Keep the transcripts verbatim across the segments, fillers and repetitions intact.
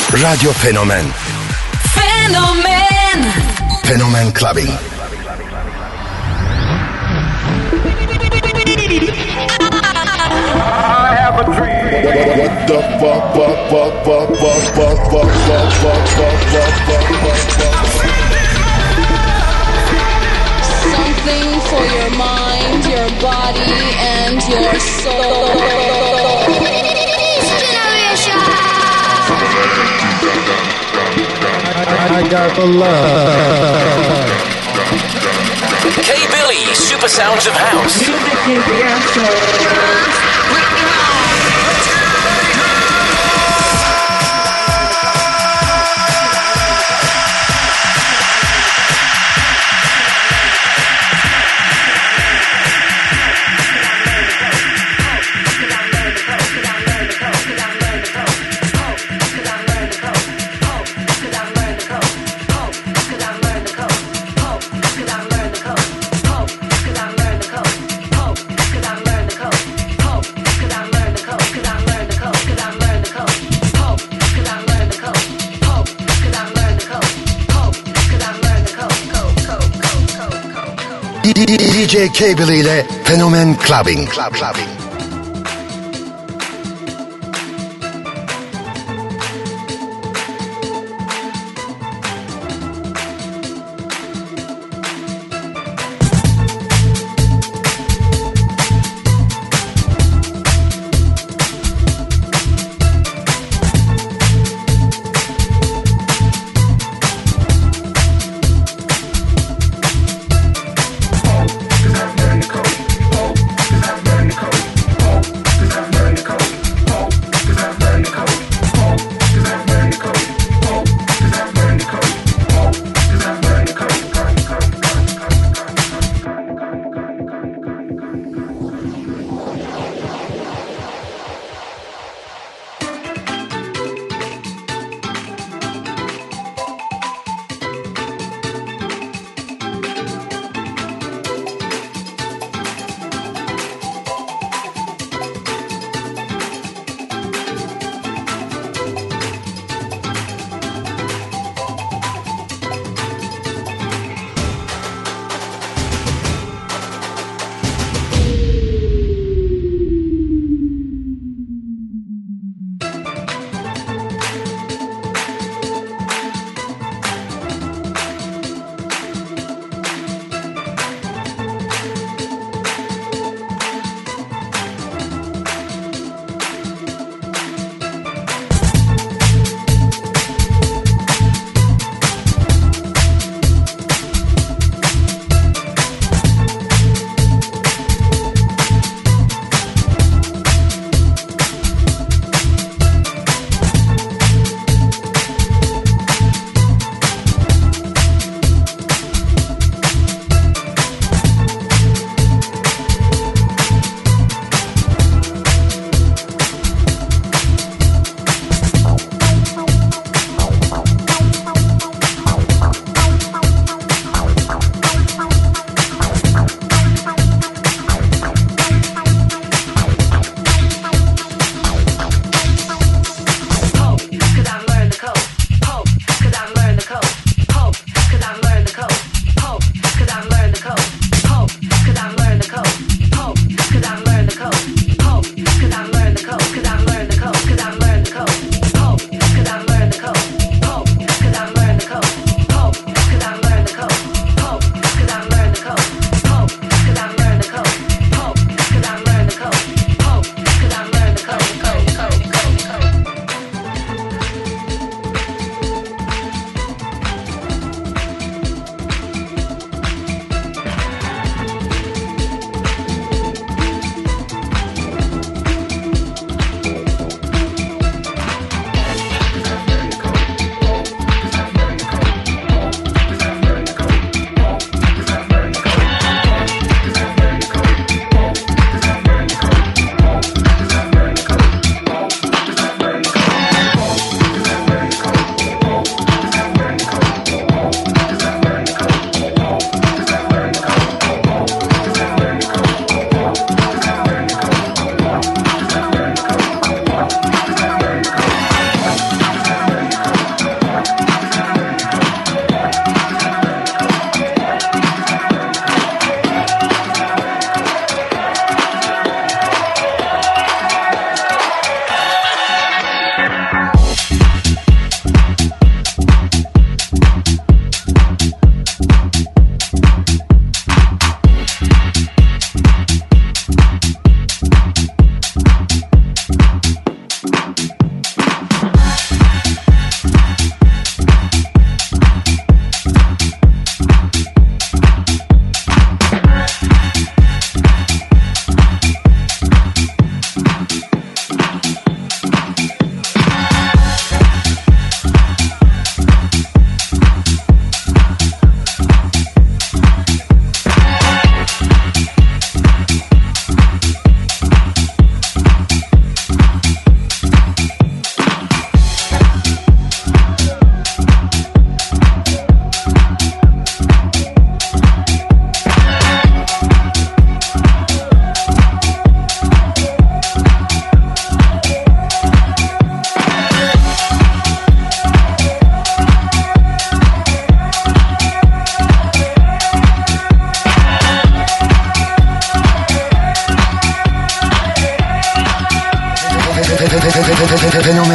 Radyo Fenomen. Fenomen. Fenomen Clubbing. I have a dream. What the fuck, fuck, fuck, fuck, fuck, fuck, fuck, fuck, fuck, fuck, fuck, fuck, fuck. Something for your mind, your body, and your soul. I got the love. K-Billy, Super Sounds of House. Music is the answer. D J K-Billy ile Fenomen Clubbing. Club, clubbing. Cause I've learned the code.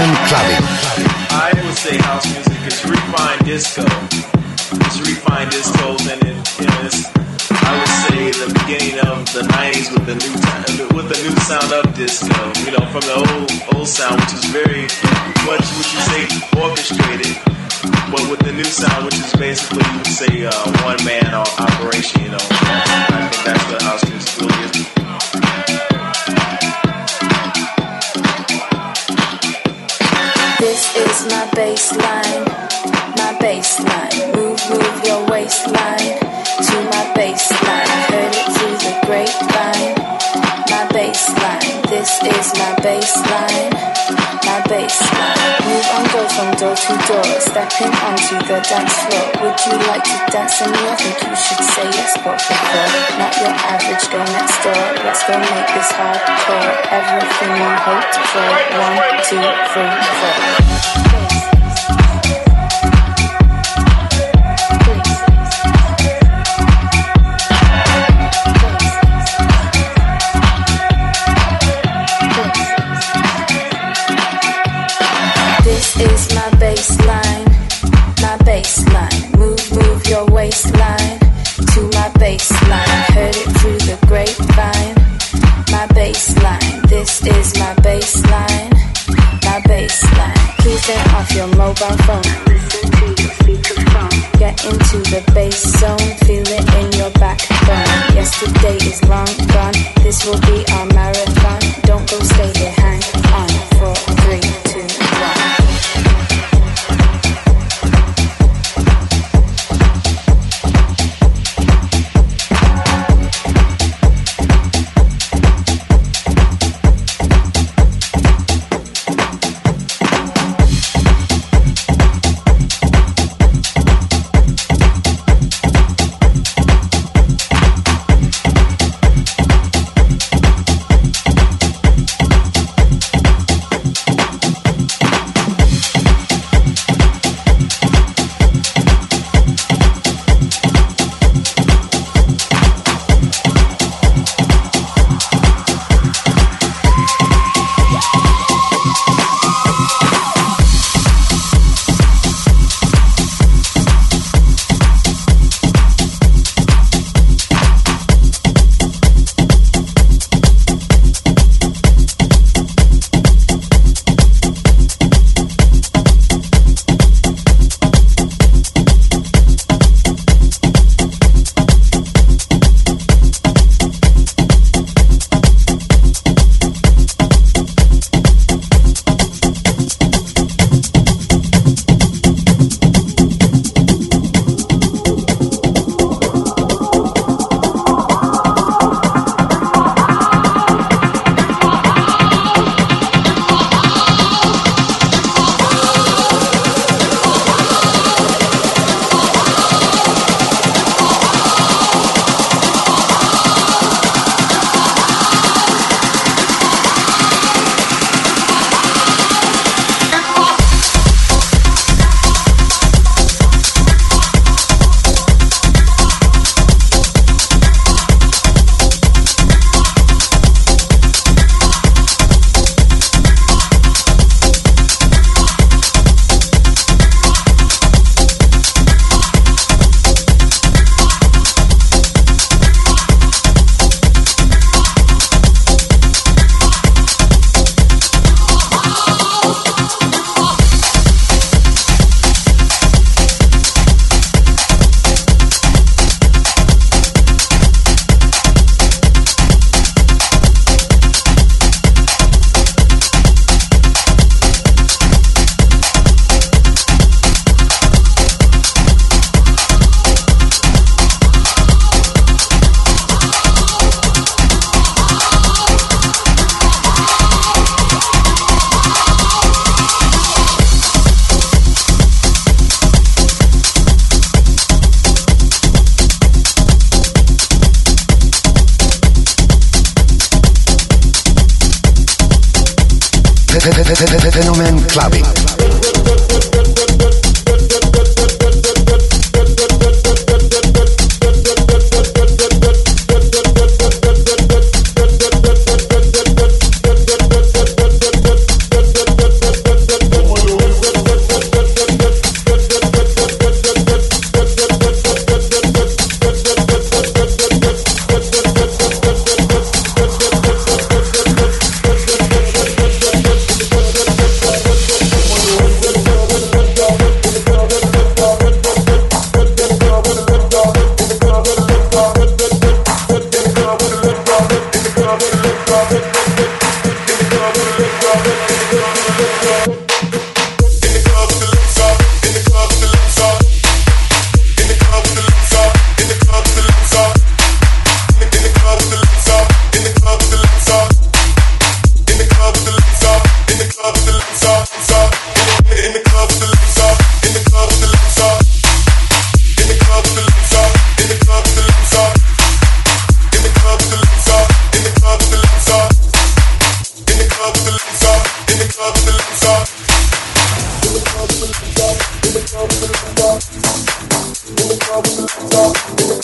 Phenomen Clubbing. I would say house music is refined disco. It's refined discos, and it, you know, it's, I would say the beginning of the nineties with the new with the new sound of disco. You know, from the old old sound, which is very much what you say orchestrated, but with the new sound, which is basically you would say uh, one man operation. You know, I think that's what house music really is. This is my baseline, my baseline. Move, move your waistline to my baseline. Heard it through the grapevine, my baseline. This is my baseline, my baseline. Move on, go from door to door, stepping onto the dance floor. Would you like to dance with me? I think you should say yes, but before. Not your average girl next door. Let's go make this hardcore. Everything you hoped for. One, two, three, four. This is my baseline, my baseline. Move, move your waistline to my baseline. Heard it through the grapevine, my baseline. This is my baseline, my baseline. Please turn off your mobile phone. Listen to your speakerphone. Get into the bass zone, feel it in your backbone. Yesterday is long gone. This will be our marathon. Don't go, stay here, hang on. Four, three, two, one. Phenomen Clubbing.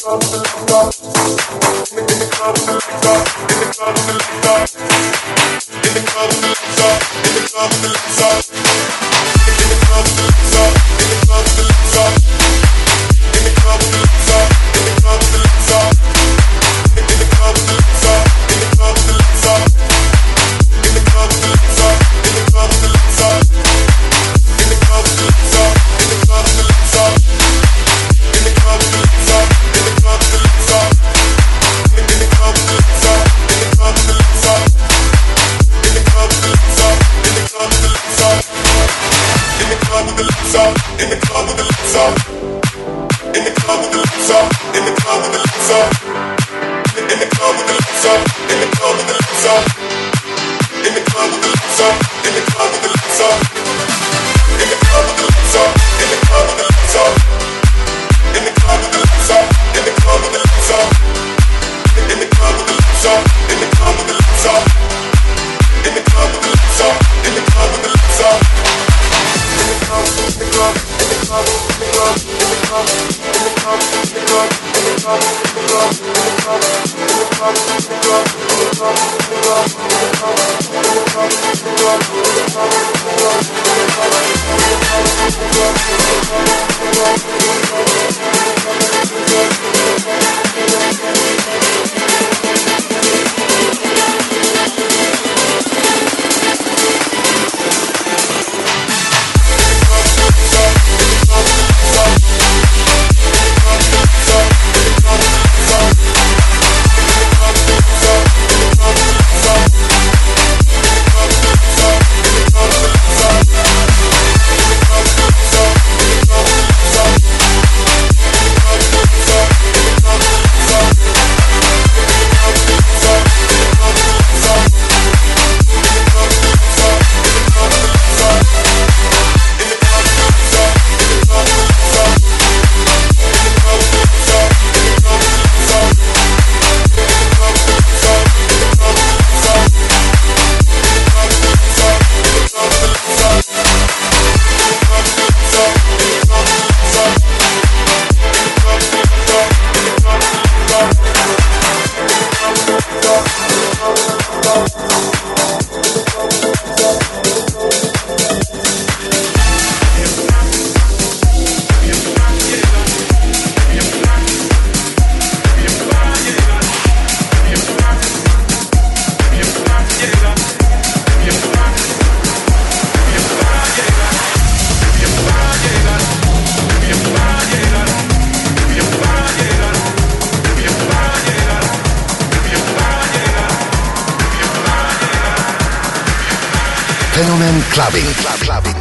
Fenomen Clubbing. Club, clubbing.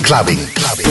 clubbing, clubbing.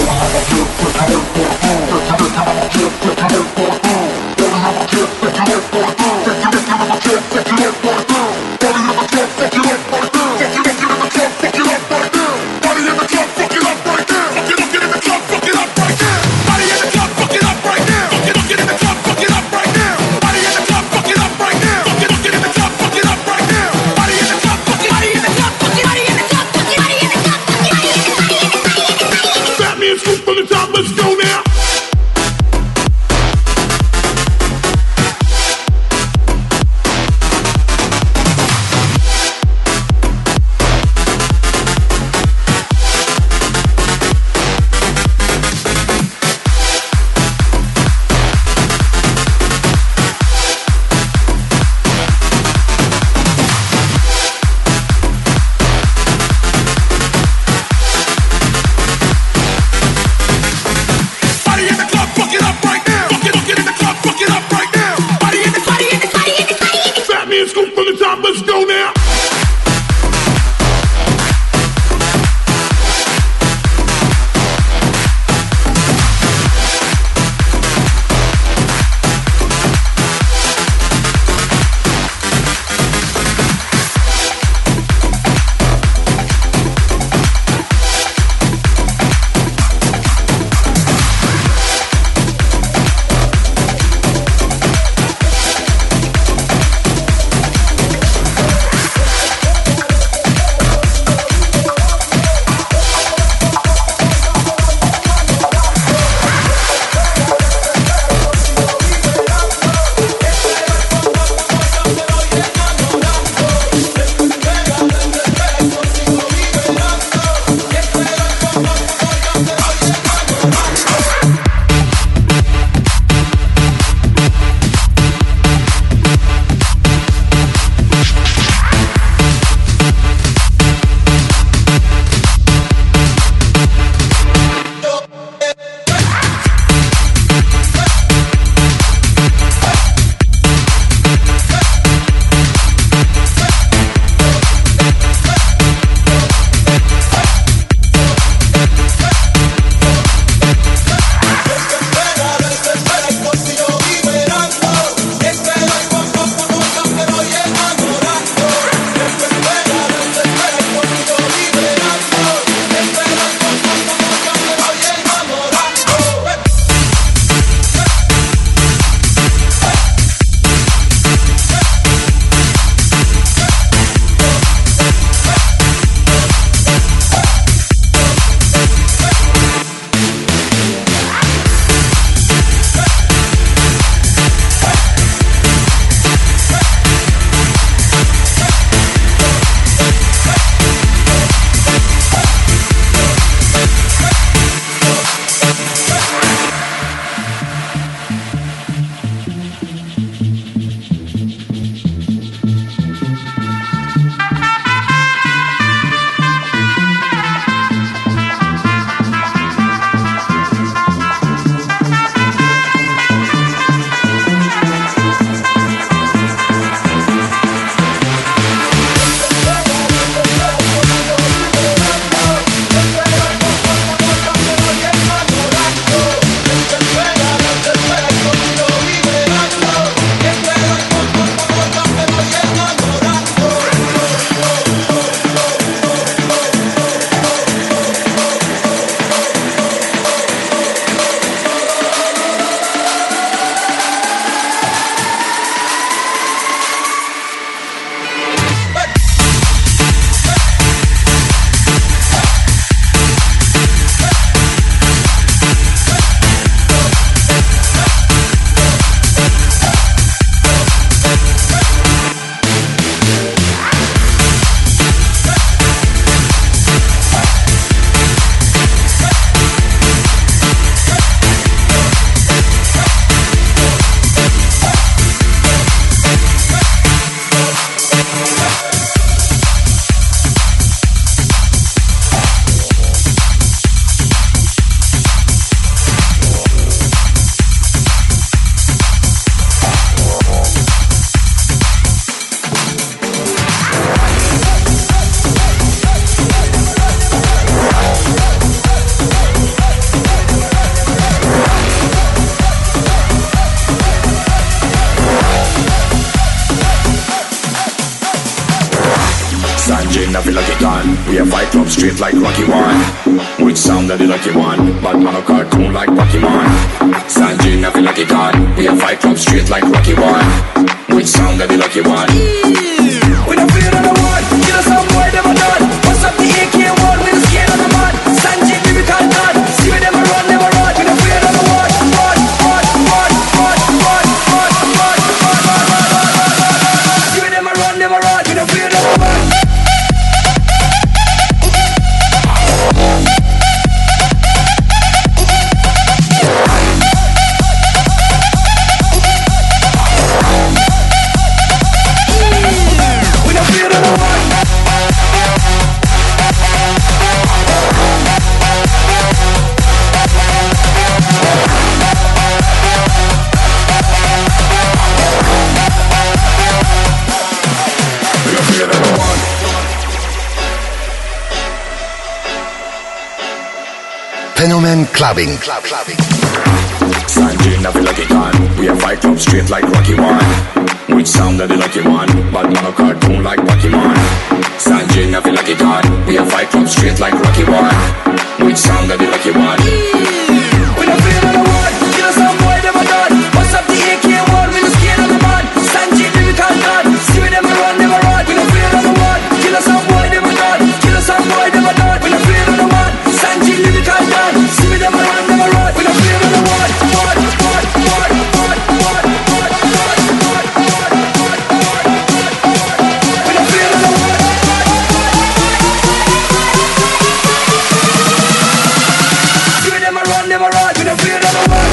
Sanjay, I feel like it gone. We have fight club straight like Rocky One. Which sound that the lucky one? Bad man a cartoon like Pokemon. Sanjay, I feel like it gone. We have fight club straight like Rocky One. Which sound that the lucky one? We don't fear no one. Kill us some boy never done. What's up the A K one? We don't scare no man. Sanjay, lyrical god. See me never run, never run. We don't fear no one. Run, run, run, run, run, run, run, run, run, run. See me never run, never run. We don't fear no one. Fenomen Clubbing. Club, clubbing. Sanjay, I feel like it gone. We have fight club straight like Rocky One. Which sound that the lucky one? Bad man a cartoon like Pokemon. Sanjay, I feel like it gone. We have fight club straight like Rocky One. Which sound that the lucky one? We don't fear no one. Kill us some boy never done. What's up the A K one? We don't scare no man. Sanjay, lyrical god. See me never run, never run. We don't fear no one. Kill us some boy never done. Kill us some boy never done. We don't fear no one. Sanjay, lyrical god. See me never run, never run. We don't fear no one. One, one, one, one, one, one, one, one, one, one. We don't fear no one. See me never run, never run. We don't fear no one.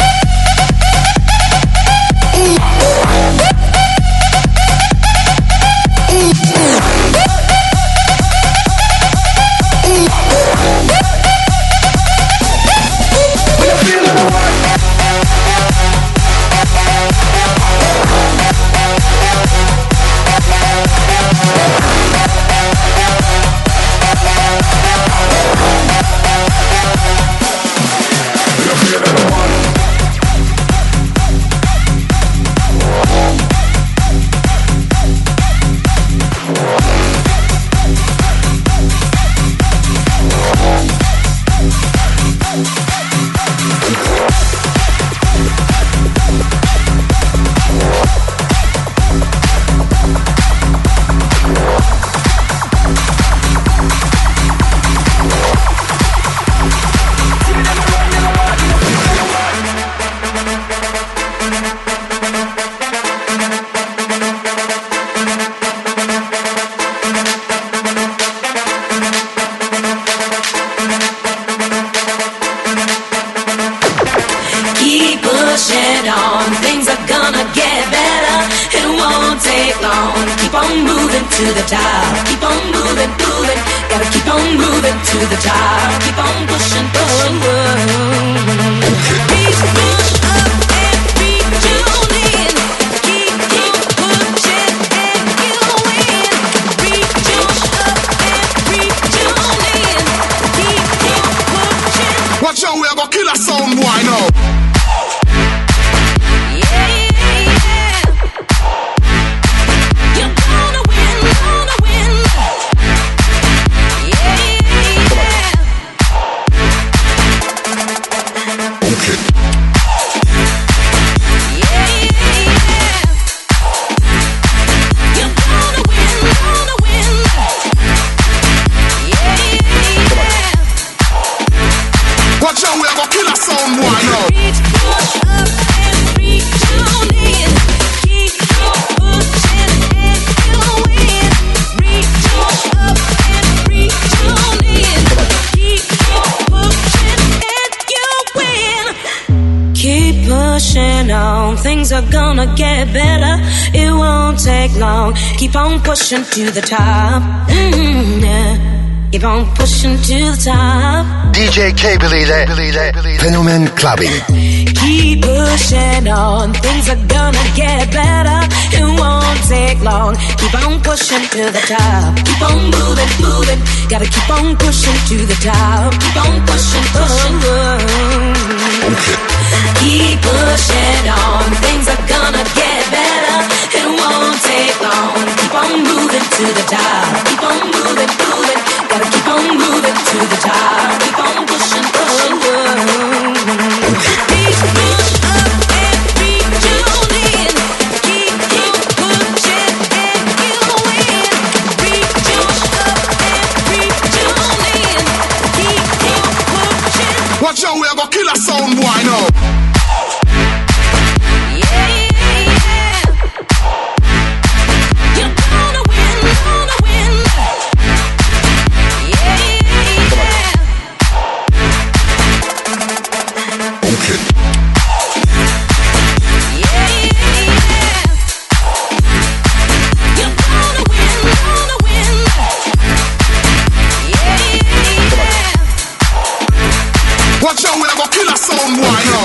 Things are gonna get better. It won't take long. Keep on pushing to the top. Mm-hmm, yeah. Keep on pushing to the top. D J Cable ile Fenomen Clubbing. Keep pushing on. Things are gonna get better. It won't take long. Keep on pushing to the top. Keep on moving, moving. Gotta keep on pushing to the top. Keep on pushing, pushing. Oh, okay. Keep pushing on. Things are gonna get better. It won't take long. Keep on moving. to the top. Keep on moving, moving. Gotta keep on moving to the top. Keep on pushing, pushing. Reach up and reach on in. Keep on pushing and you'll win. Reach up and reach on in. Keep on pushing. Watch out, we are gonna kill a sound boy now. Watch out, we're gonna kill a sound boy now.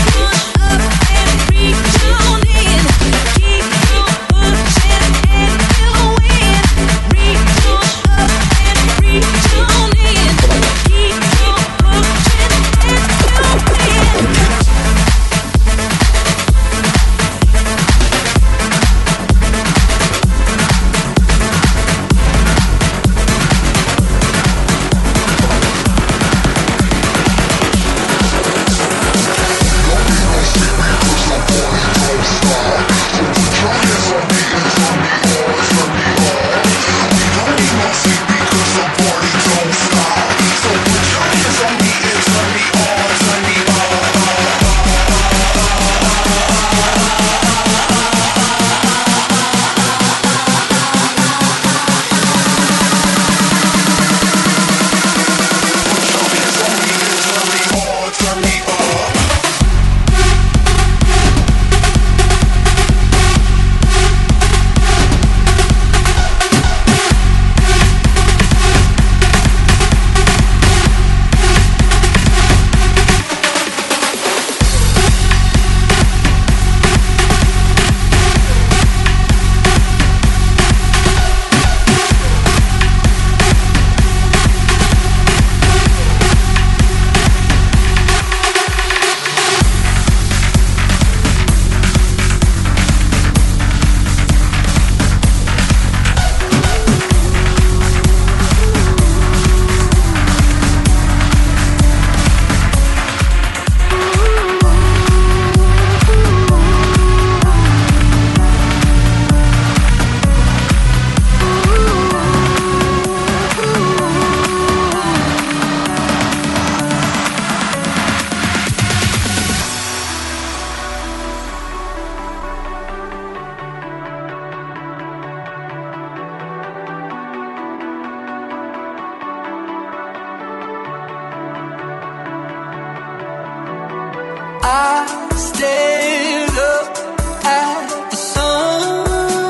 I stared up at the sun,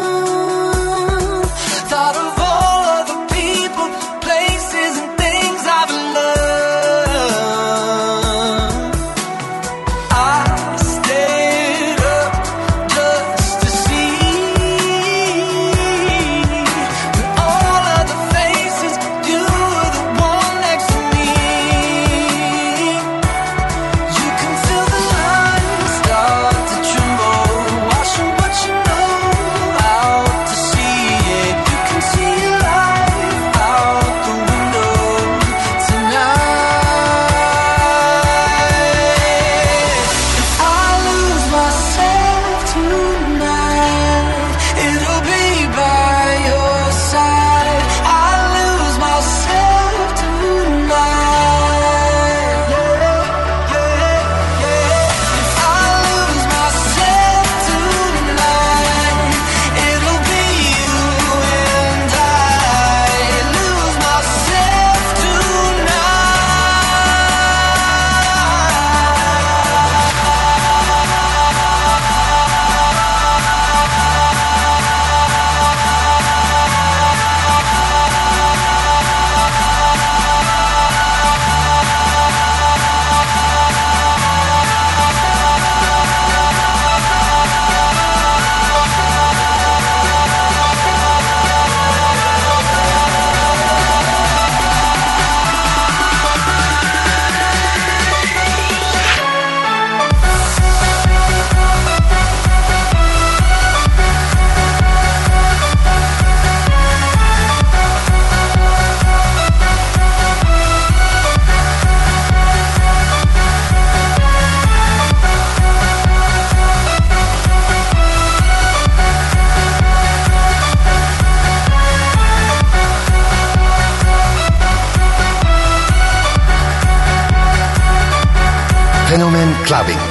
thought of all of the people, places and things I've learned. I stayed up just to see when all of the faces, you were the one next to me. You can feel the line start Fenomen Clubbing.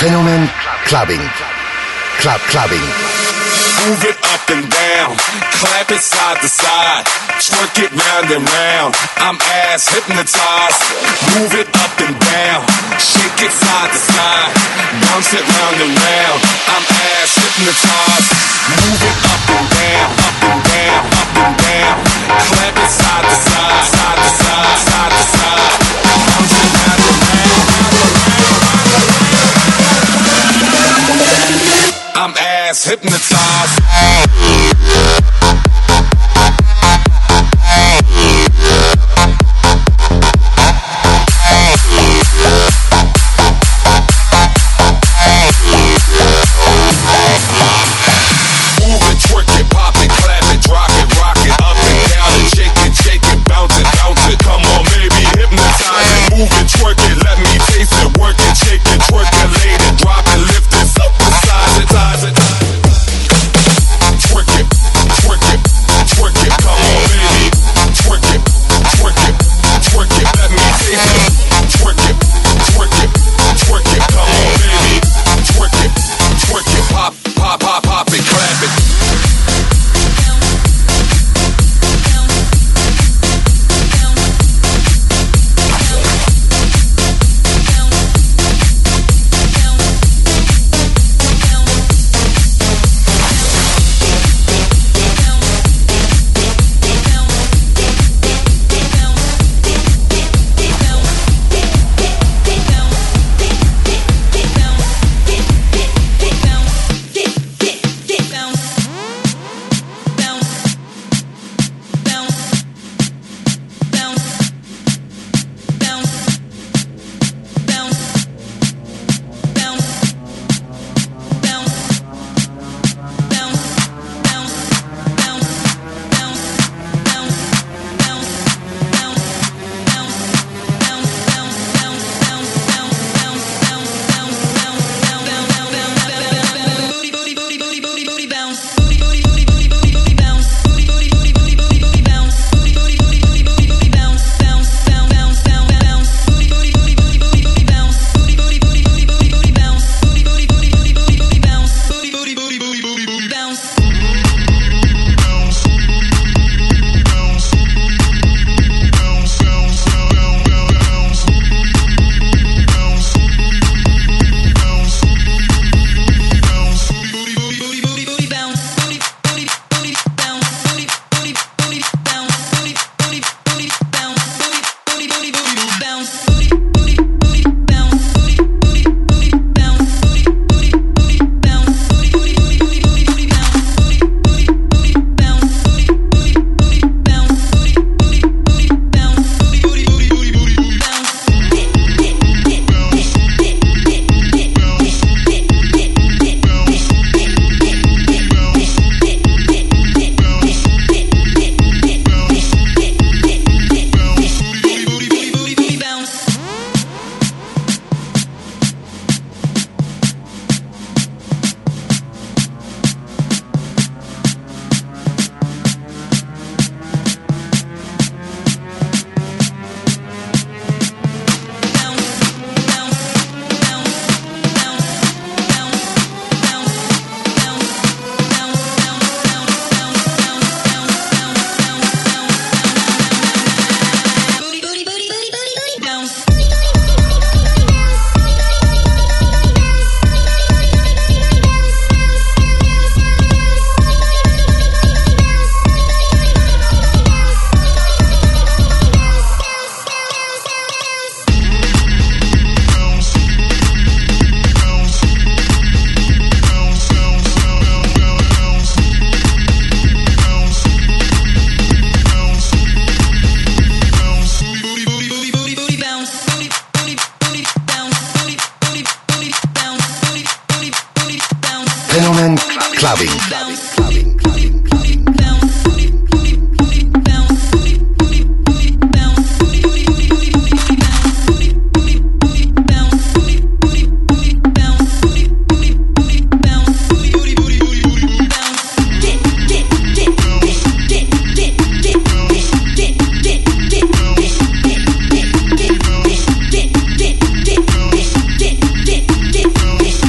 Fenomen Clubbing. Club Clubbing. Move it up and down, clap it side to side, twerk it round and round. I'm ass hypnotized. Move it up and down, shake it side to side, bounce it round and round. I'm ass hypnotized. Move it up and down, up and down, up and down, clap it side to side, side to side, side to side, bounce it round and round, round and round. I'm ass hypnotized. Fenomen Clubbing. Get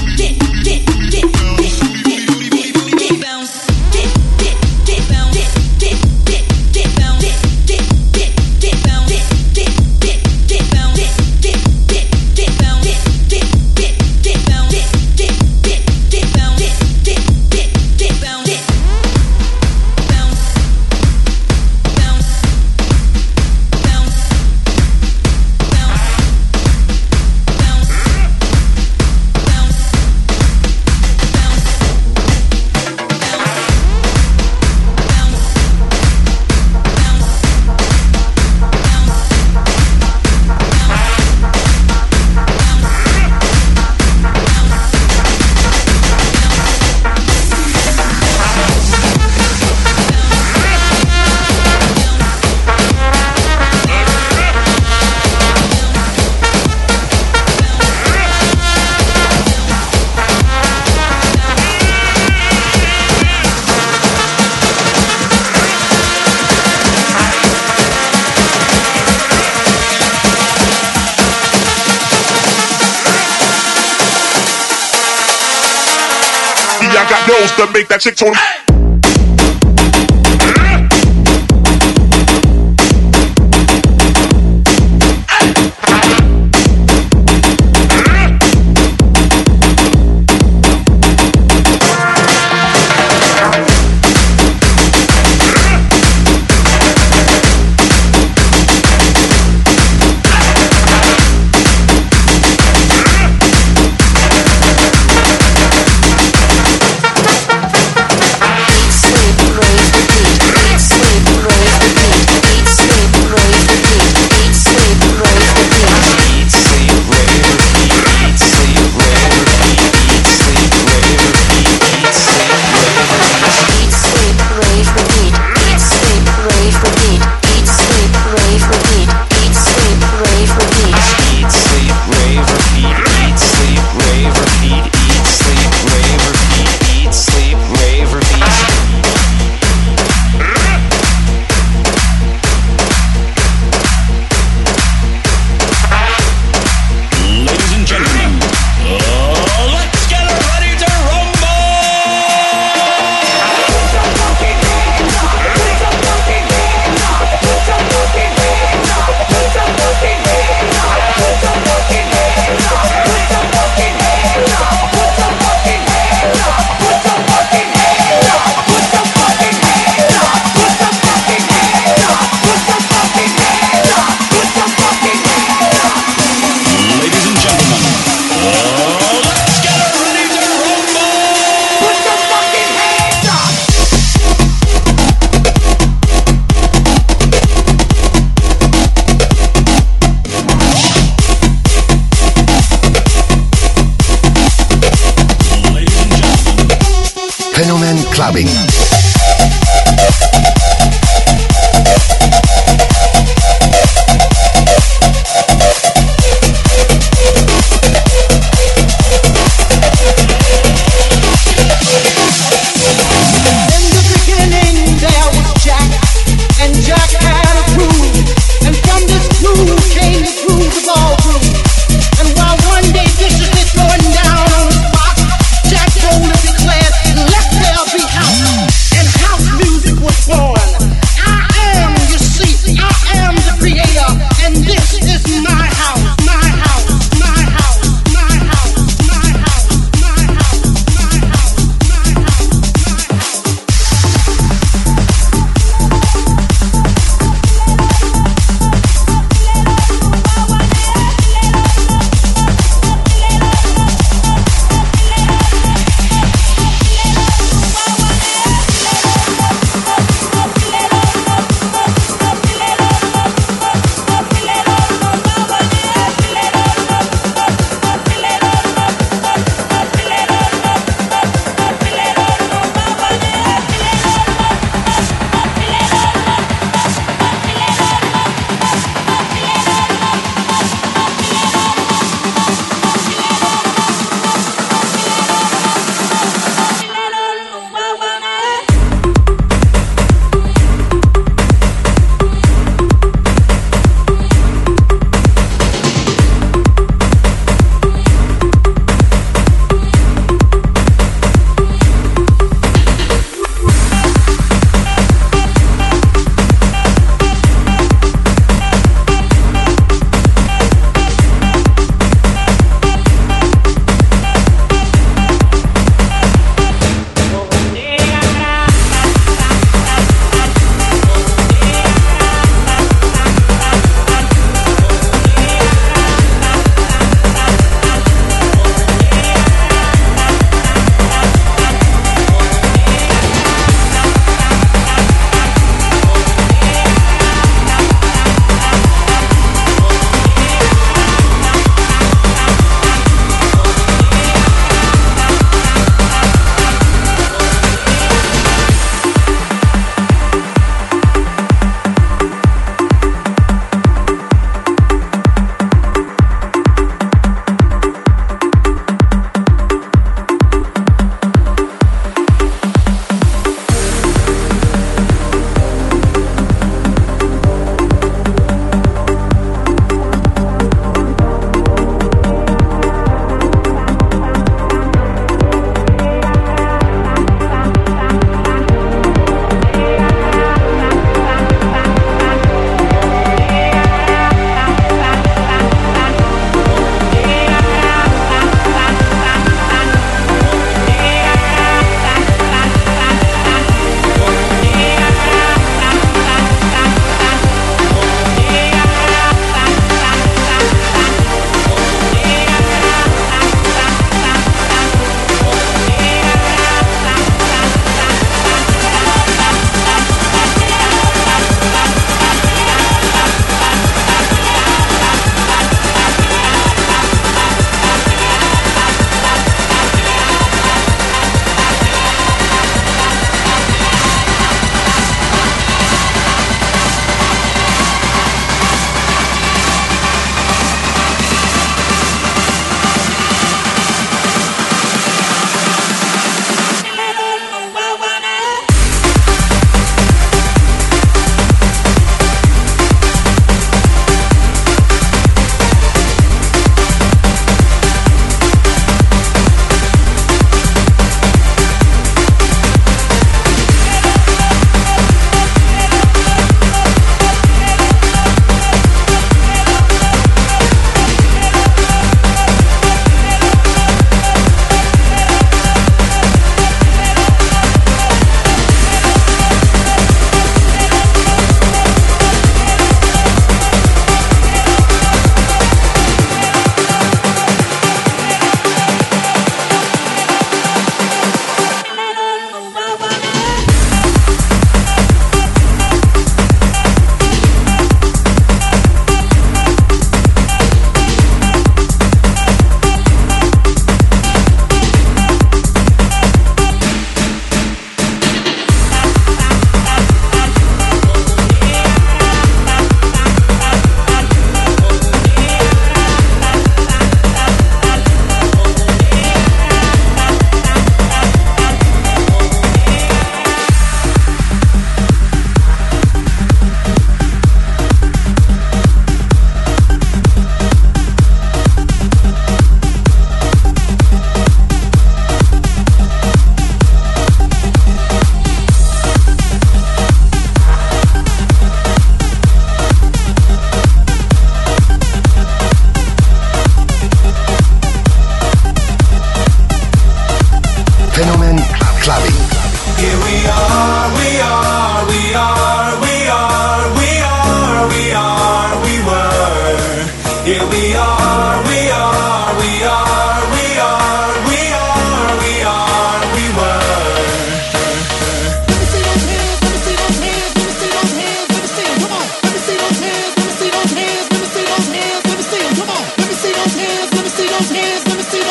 got nose to make that chick tone. Fenomen Clubbing. Jack Rowland declared, let there be house.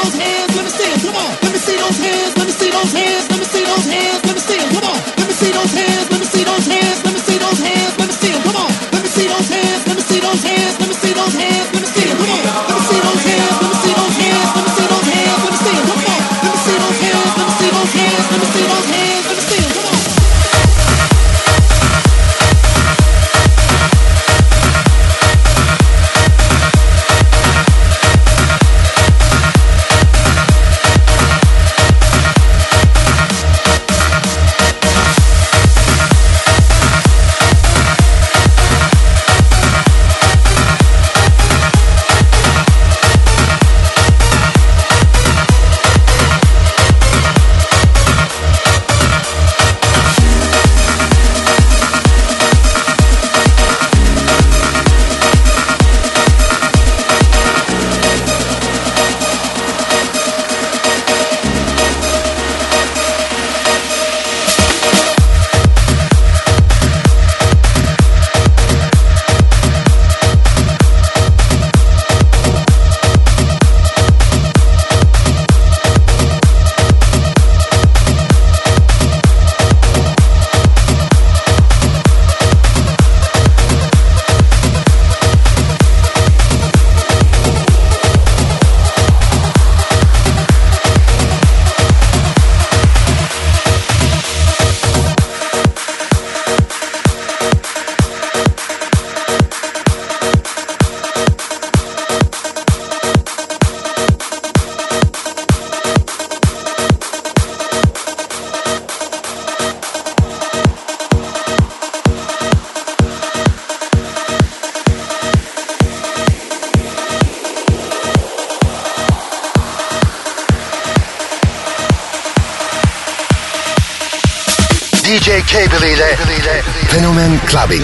those hands, let me see them. Come on, let me see those hands, let me see those hands, let me see those hands, let me see them. Come on, let me see those hands, let me see those hands, let me see those hands, let me see them. Come on, let me see those hands, let me see those hands, let me see those hands, let me see them. Come on, let me see those hands, let me see those hands, let me see those hands, let me see them. Come on, let me see those hands, let me see those hands, let me see those hands, let me see them. Come on. D J Cable ile Fenomen Clubbing.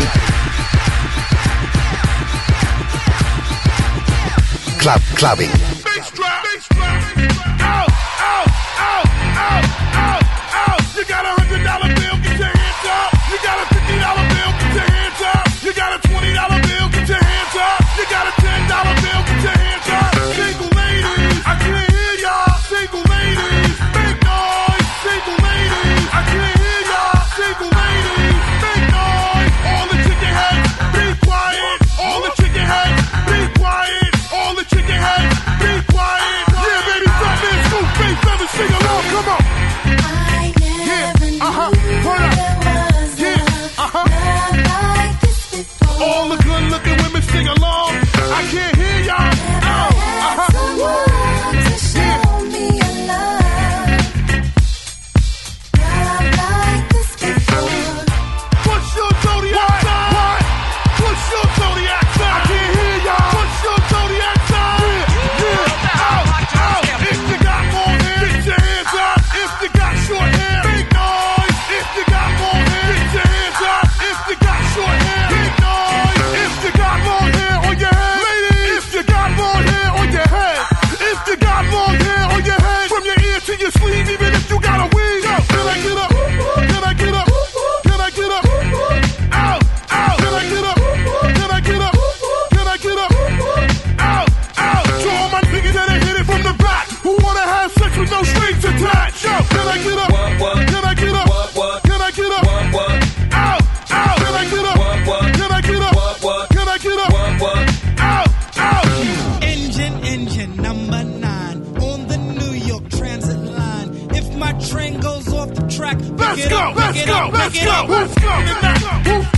Club Clubbing. Bass drop, bass drop. Out, out, out, out, out, out. You got a hundred dollar bill, get your hands up. You got a fifty dollar bill, get your hands up. You got a twenty dollar bill, get your hands up. You got a ten dollar bill, get your hands up. Single ladies, I can't hear y'all. Single ladies, make noise. Single ladies, I can't hear y'all. Single ladies, make noise. All the chicken heads, be quiet. All the chicken heads, be quiet. All the chicken heads, be quiet. Yeah, baby, drop in, scoop, bass, feathers, sing along, come on. I never yeah, uh-huh, turn up. Yeah, uh-huh. All the good looking women sing along. I can't hear y'all. Oh, uh-huh. Someone to show me a love. Not like this before. What's your zodiac sign? What? What's your zodiac sign? I can't hear y'all. What's your zodiac sign? Yeah, yeah. Out, out. If you got long hair, get your hands up. If you got short hair, make noise. If you got long hair, get your hands up. If you got short hair, make noise. If you got long hair on your head, ladies. If you got long hair on your head. If you got long hair on your head, from your ear to your sleeve, even if you got a weave. Yo, can I get up? Can I get up? Can I get up? Out, out. Can I get up? Can I get up? Can I get up? Out, out. To all my niggas that ain't hit it from the back, who wanna have sex with no strings attached. Yo, can I get up? Can I get up? Can I get up? Out, out. Can I get up? Can I get up? Can I get up? Out, out. Engine, engine number nine on the New York Transit line. If my train goes off the track, pick Let's it go, up, let's pick it go, up, let's pick it go, up. let's go, let's go.